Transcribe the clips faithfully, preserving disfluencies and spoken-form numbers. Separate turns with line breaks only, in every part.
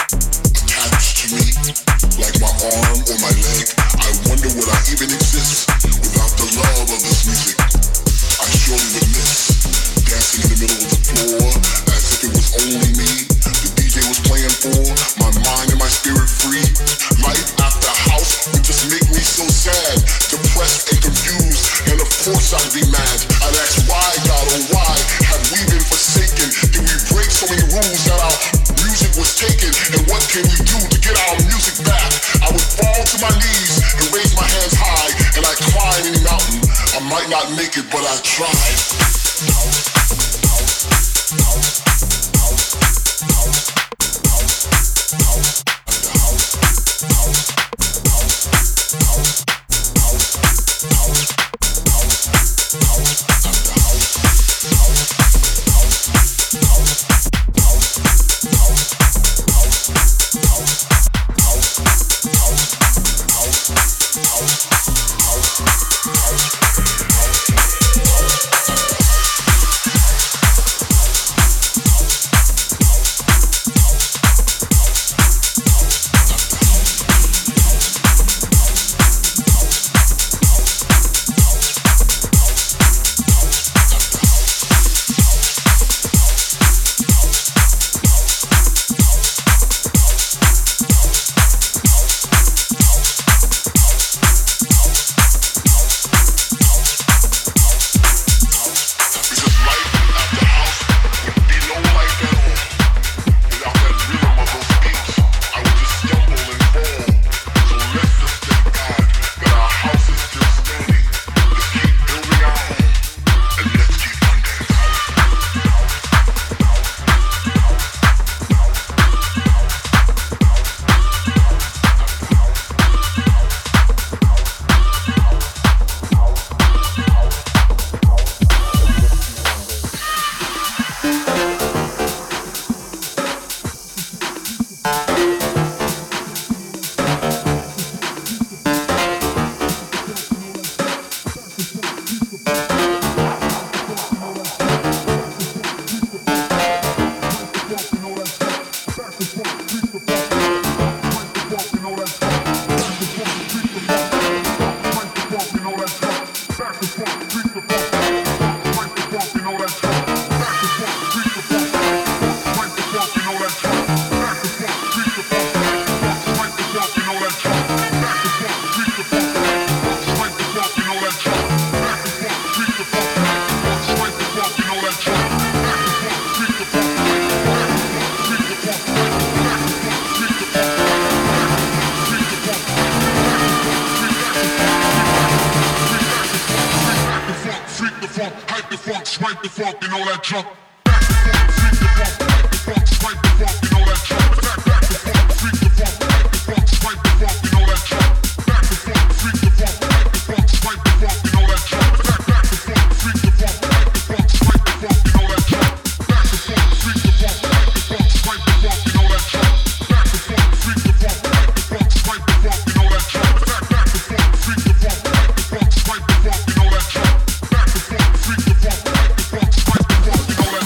attached to me, like my arm or my leg. I wonder would I even exist without the love of this music. I surely would miss dancing in the middle of the floor as if it was only me. The D J was playing for my mind and my spirit free. Life after house would just make me so sad, depressed and confused, and of course I'd be mad. I'd ask why, God, oh why have we been forsaken? Did we break so many rules that our music was taken? And what can we do to get our music back? I would fall to my knees and raise my hands high, and I'd climb any mountain. I might not make it, but I tried.
Swipe the funk, you know that jump. Back the funk, freak the funk, back the funk, swipe the funk, you know that jump. Back, back the funk, freak the funk, back the funk, swipe the funk, you know that jump. Back the funk, freak the funk, back the funk, swipe the funk, you know that jump. Back, back the funk, freak the funk, back the funk, swipe the funk, you know that jump. Back the funk, freak the funk, back the funk, swipe the funk, you know that jump. Back the funk, freak the funk, back the funk, swipe the funk, you know that jump. Back, back the funk, freak the funk, back the funk, swipe the funk, you know that jump. Back the funk, freak the funk, back the funk, swipe the funk, you know that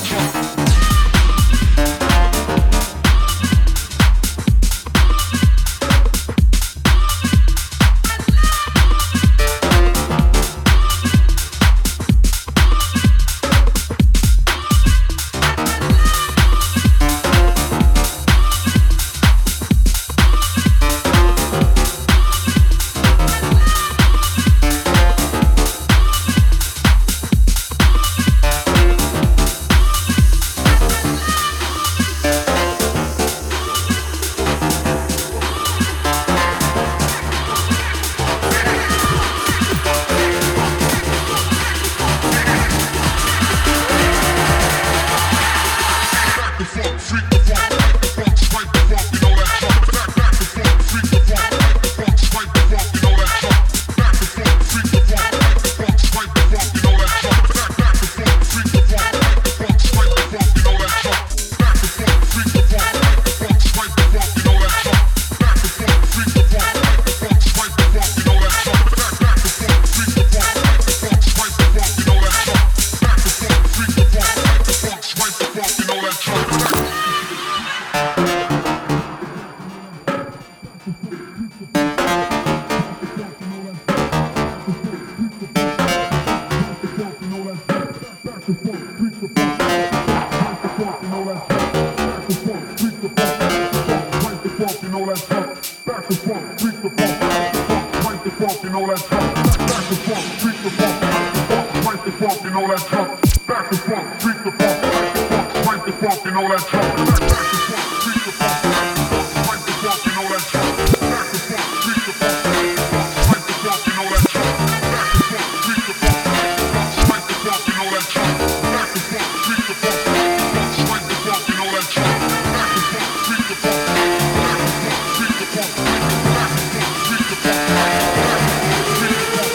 funk, you know that jump. Back to funk, freak the funk, back to funk, crank the funk, you know that jump. Back to funk, freak the funk, back to funk, crank the funk, you know that jump. Back to funk, freak the funk, back to funk, crank the funk, you know that jump. Back to funk, freak the funk, back to funk, crank the funk, you know that jump. Back to funk, freak the funk, back to funk, crank the funk, you know that jump. Back to funk, freak the funk, back to funk, crank the funk, you know that jump. Back to funk, freak the funk, back to funk, crank the funk, you know that jump. Back to funk, freak the funk, back to funk, freak the funk, back to funk, freak the funk, back to funk, freak the funk,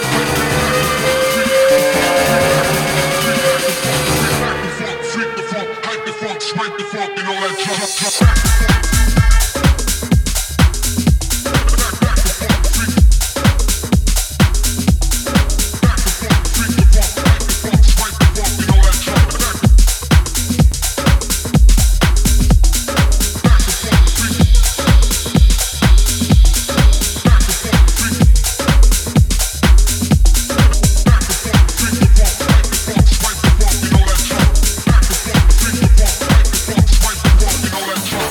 freak the funk, hype the funk, spank the funk, you know that jump. All that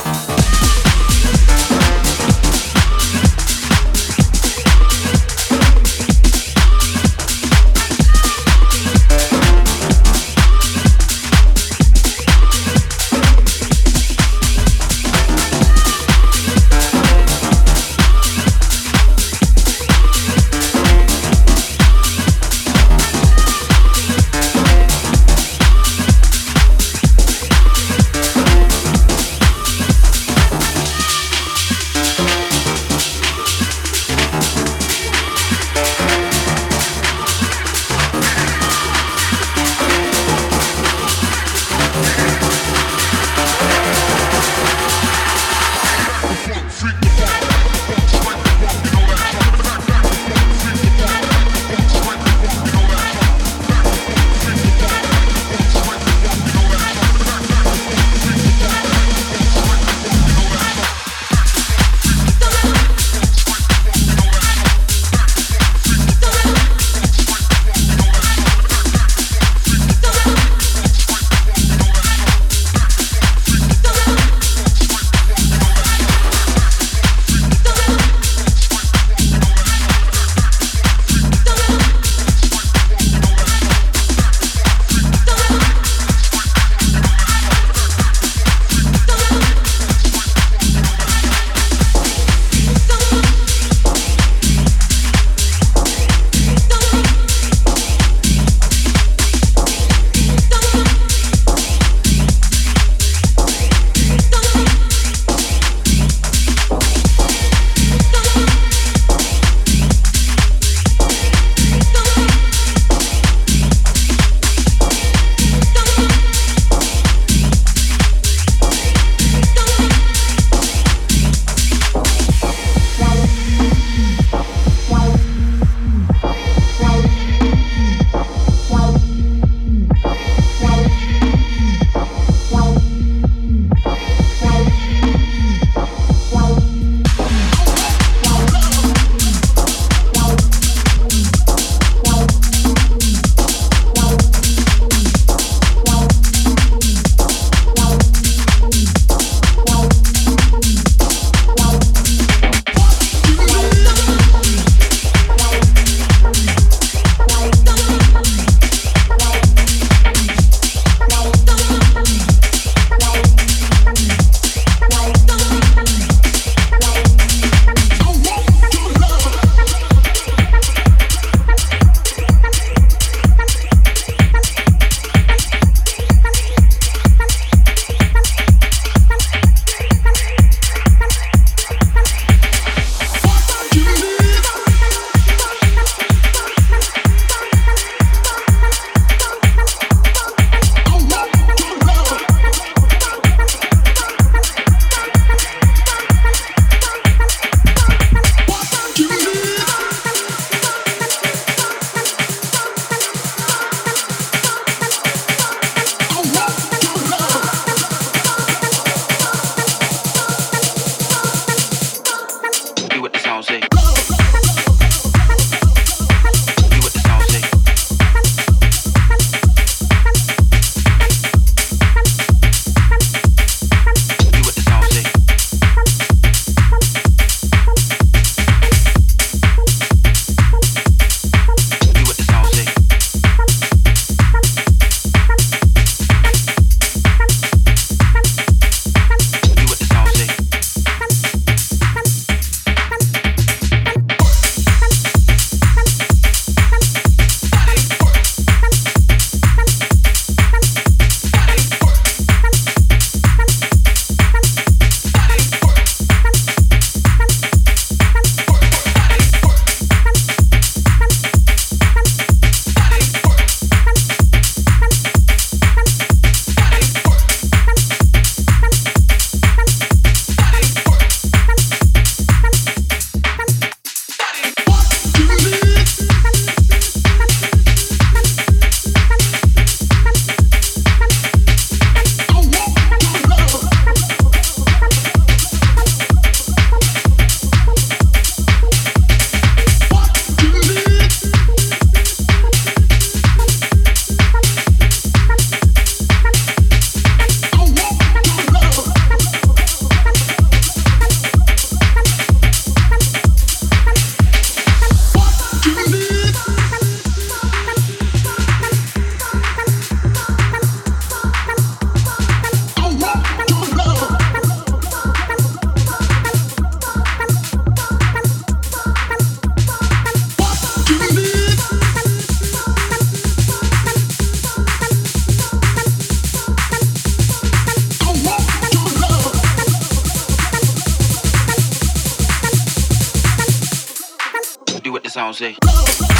sound say. Do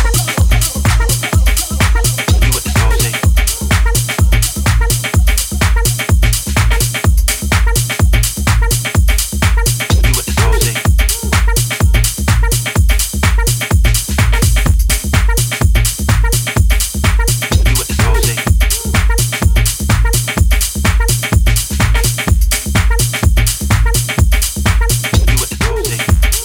what the sound say. Do what the sound say. Do what the sound say. Do what the sound say.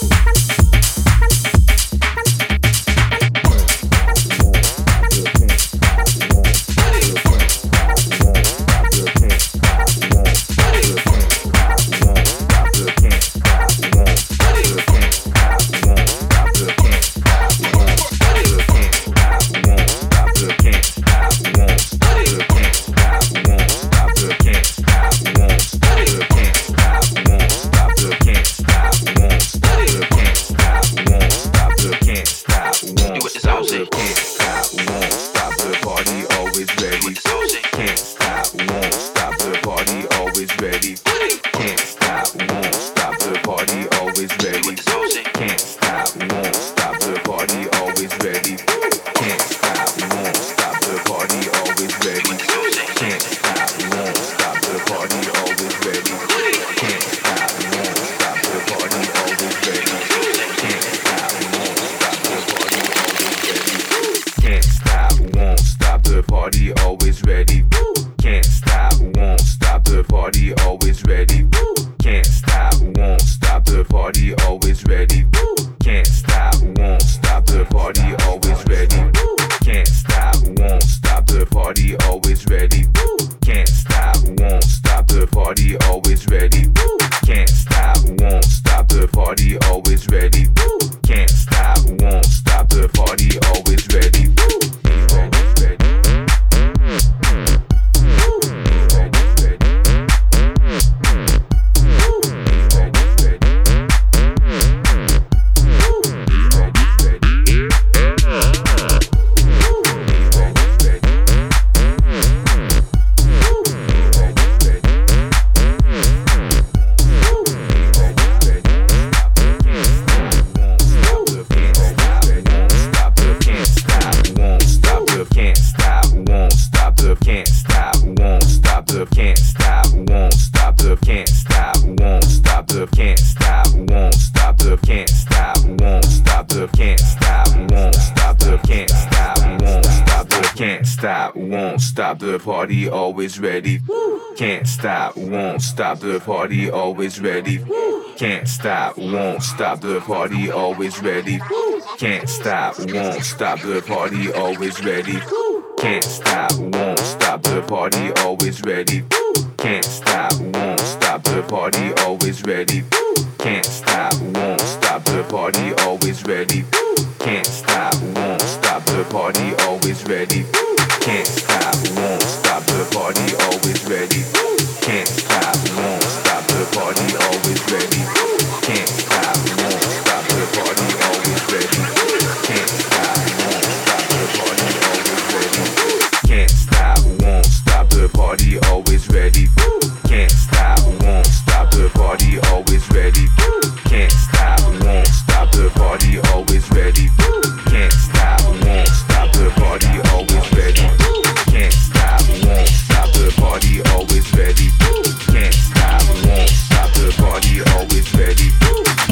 The party always ready. Can't stop, won't stop. The party always ready. Can't stop, won't stop. The party always ready. Can't stop, won't stop. The party always ready. Can't stop, won't stop. The party always ready. Can't stop, won't stop. The party always ready. Can't stop, won't stop. The party always ready. Can't stop, won't stop. The party always ready. Can't stop, won't stop. The party always ready. Can't stop, won't stop. The party always ready. Can't stop, won't stop. The party always ready. Can't stop, won't stop. The party always ready. Can't stop, won't stop. The party always ready. Can't stop, won't stop. The party always ready. Can't stop, won't stop. The party always ready. Can't stop, won't stop. The party always ready. Can't stop, won't stop. The party always ready. Can't stop, won't stop. The party always ready.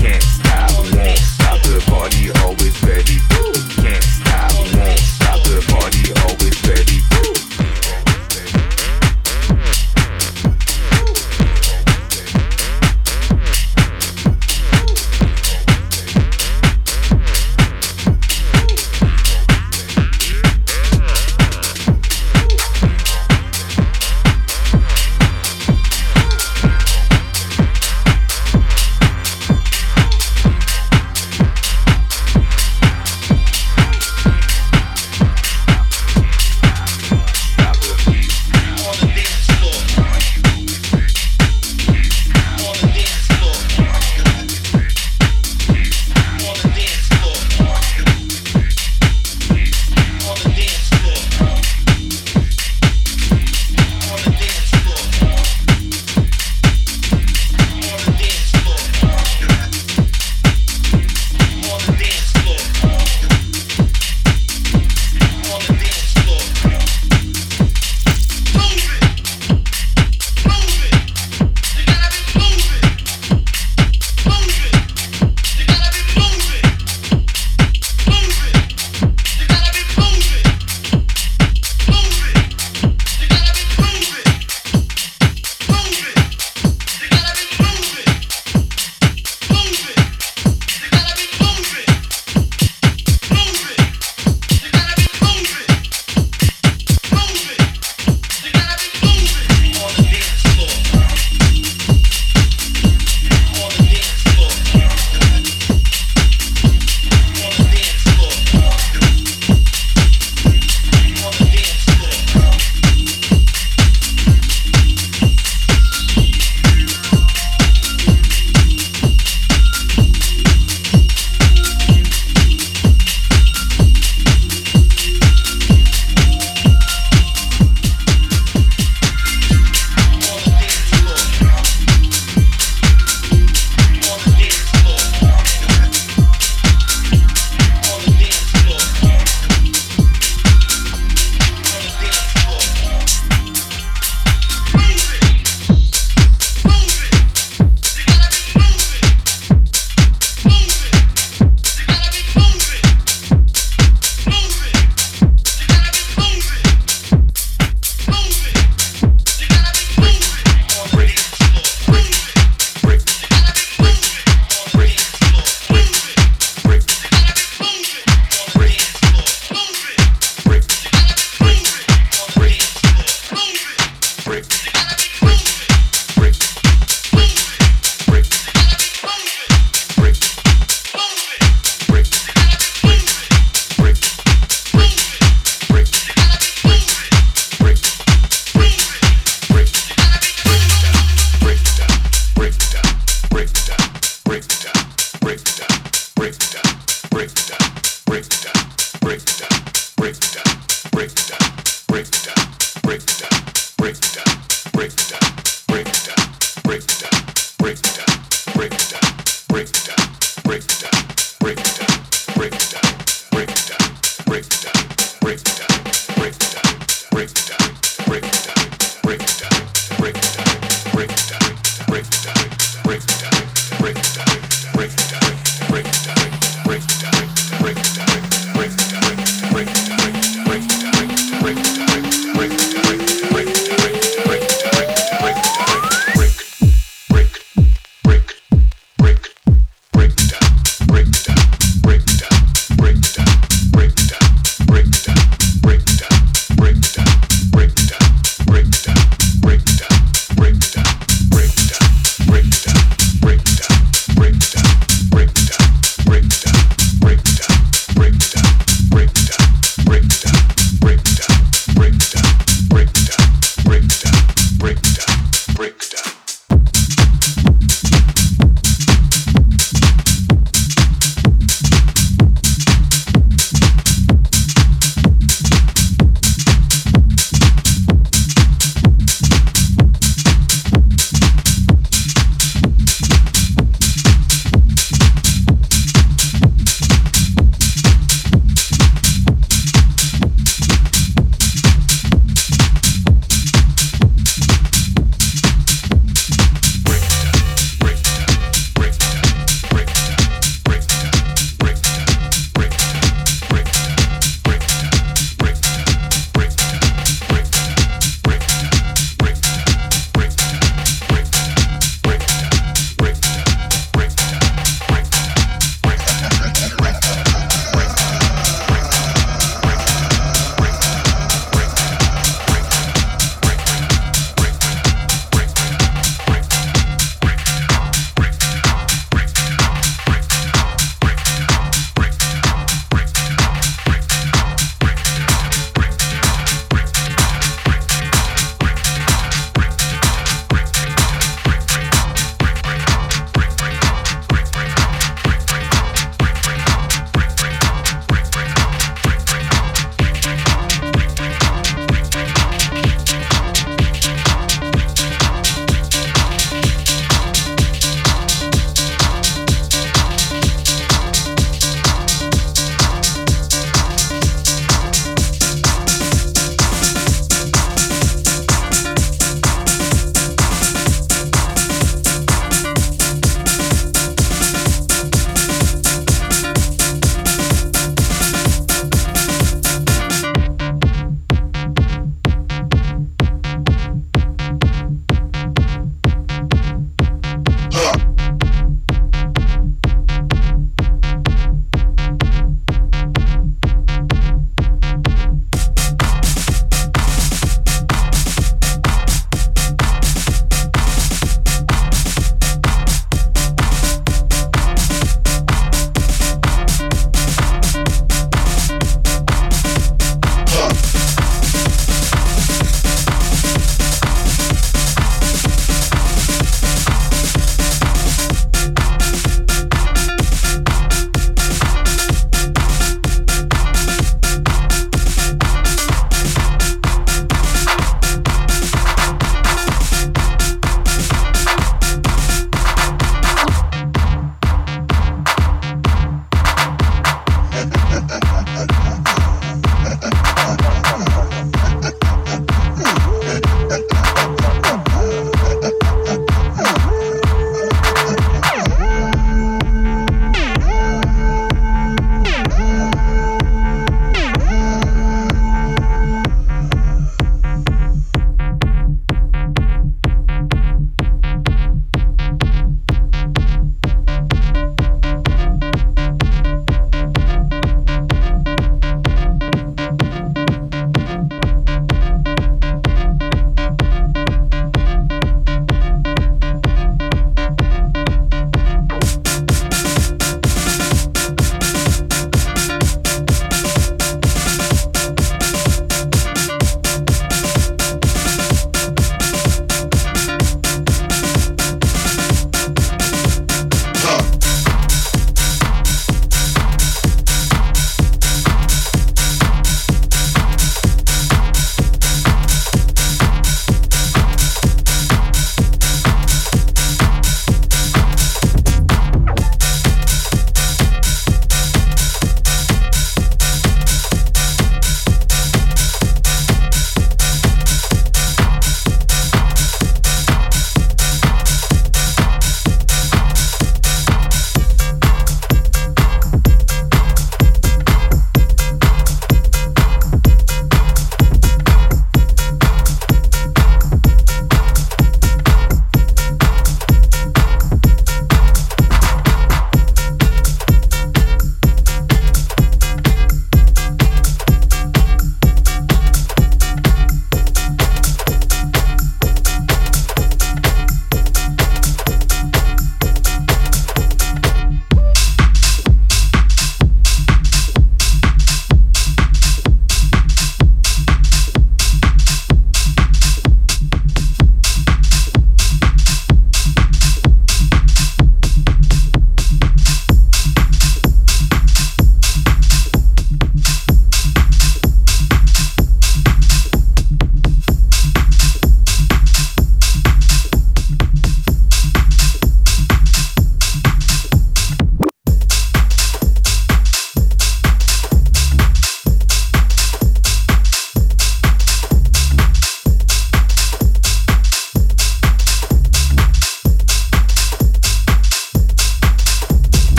break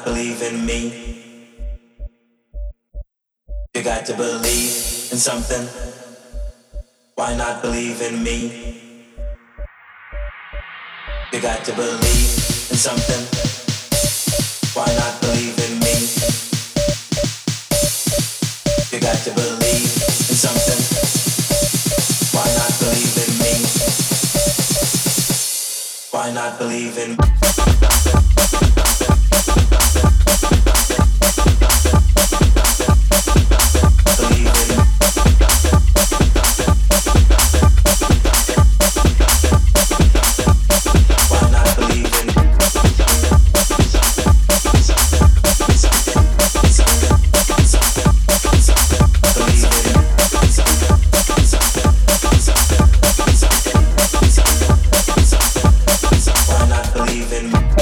believe in me? You got to believe in something. Why not believe in me? You got to believe in something. Why not believe in me? You got to believe in something. Why not believe in me? Why not believe in me? Believe in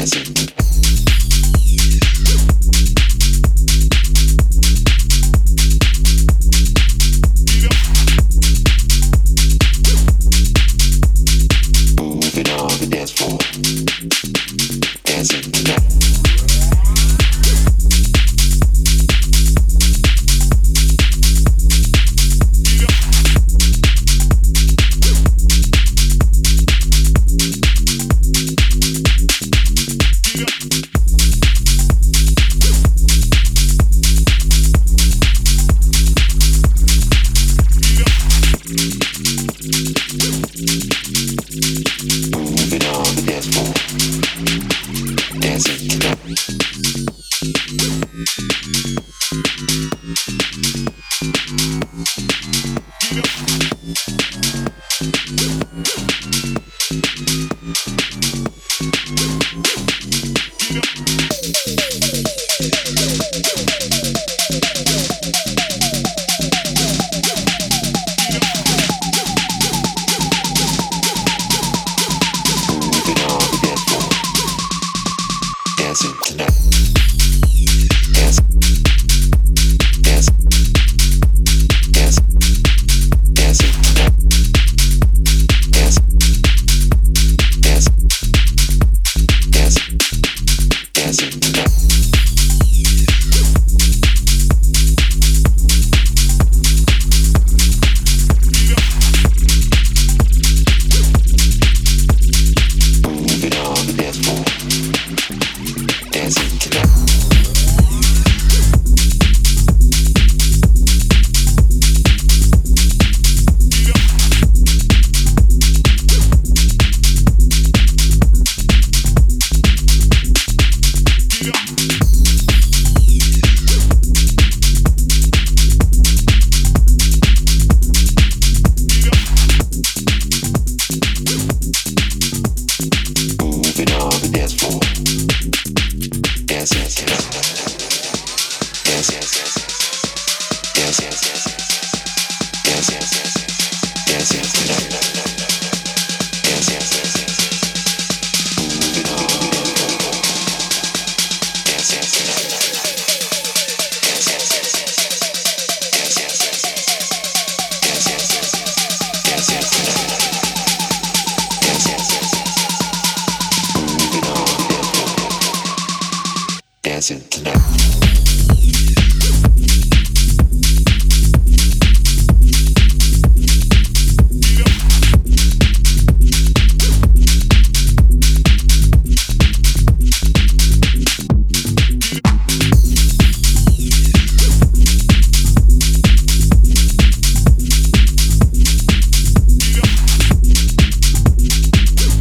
dancing tonight.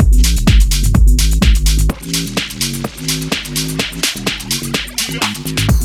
Yeah.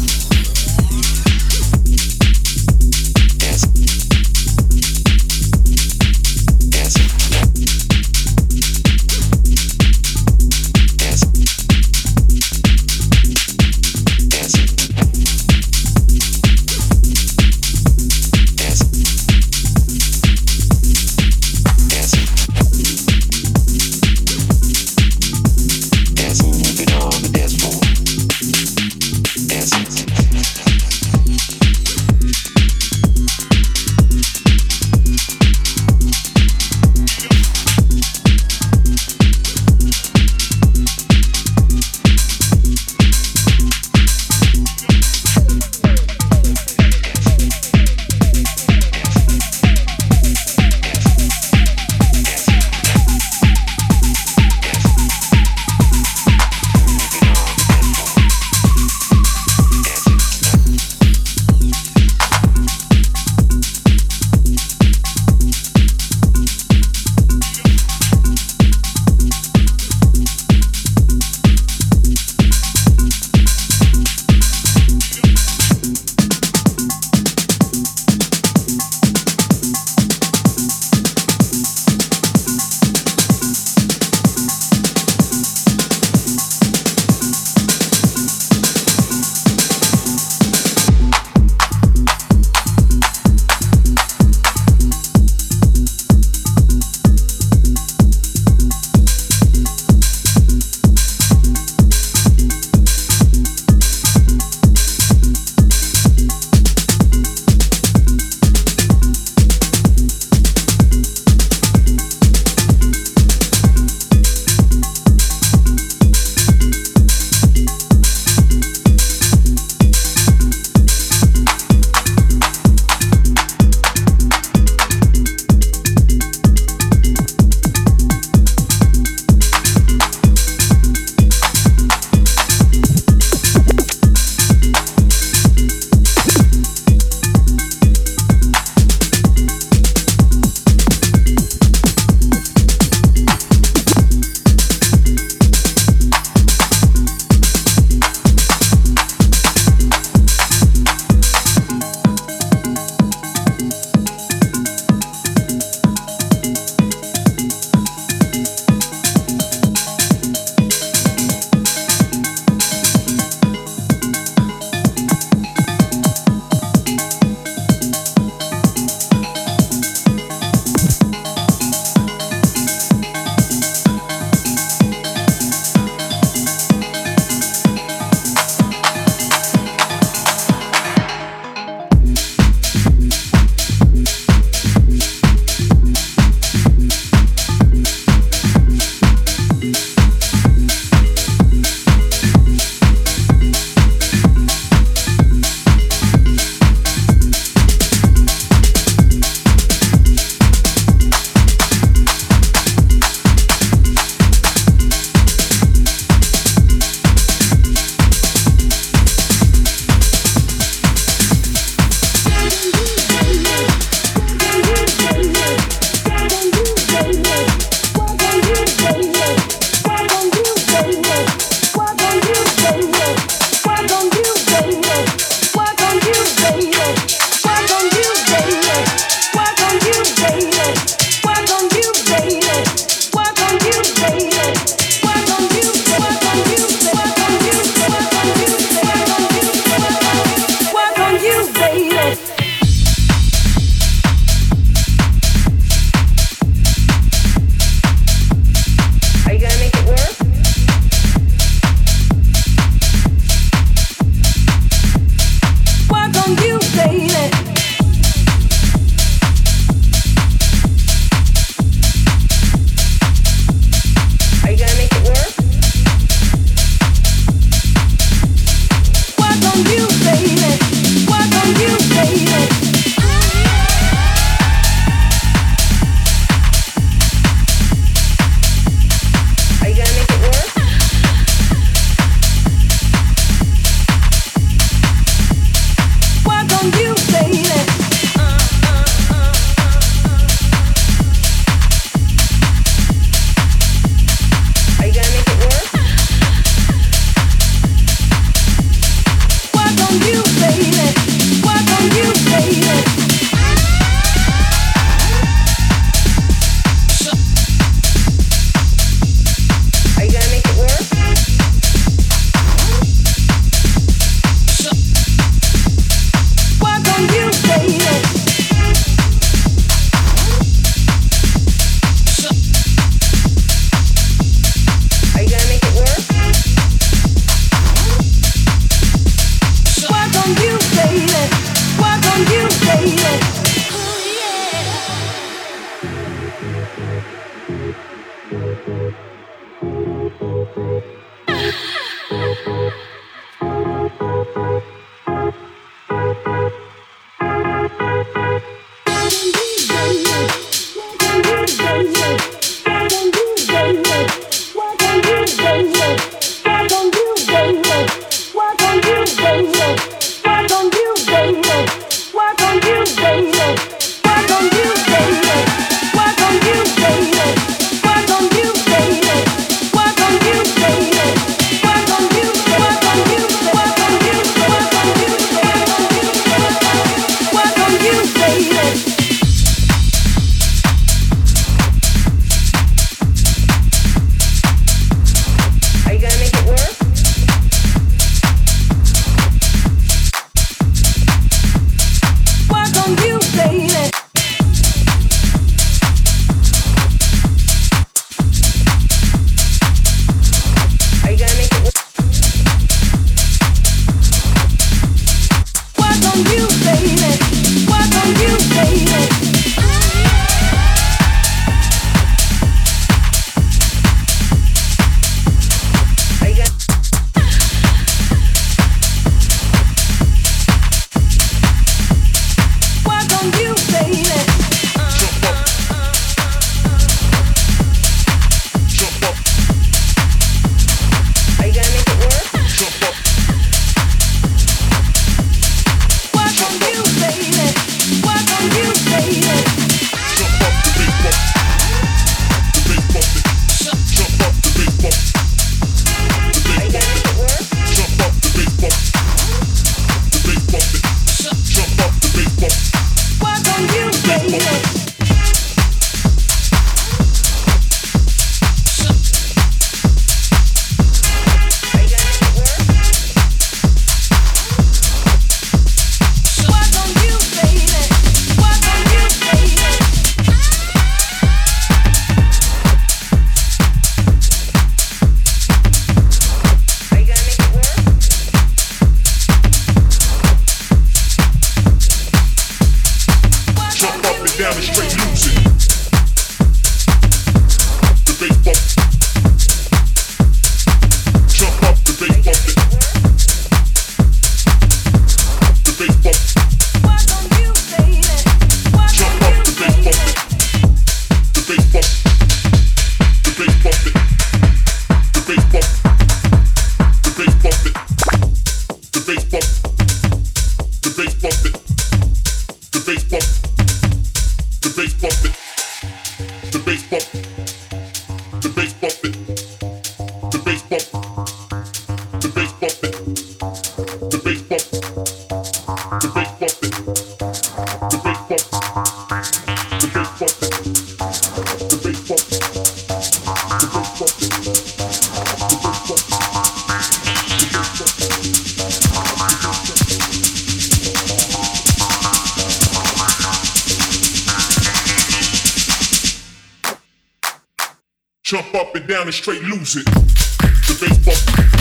Jump up and down and straight lose it. The bass bump.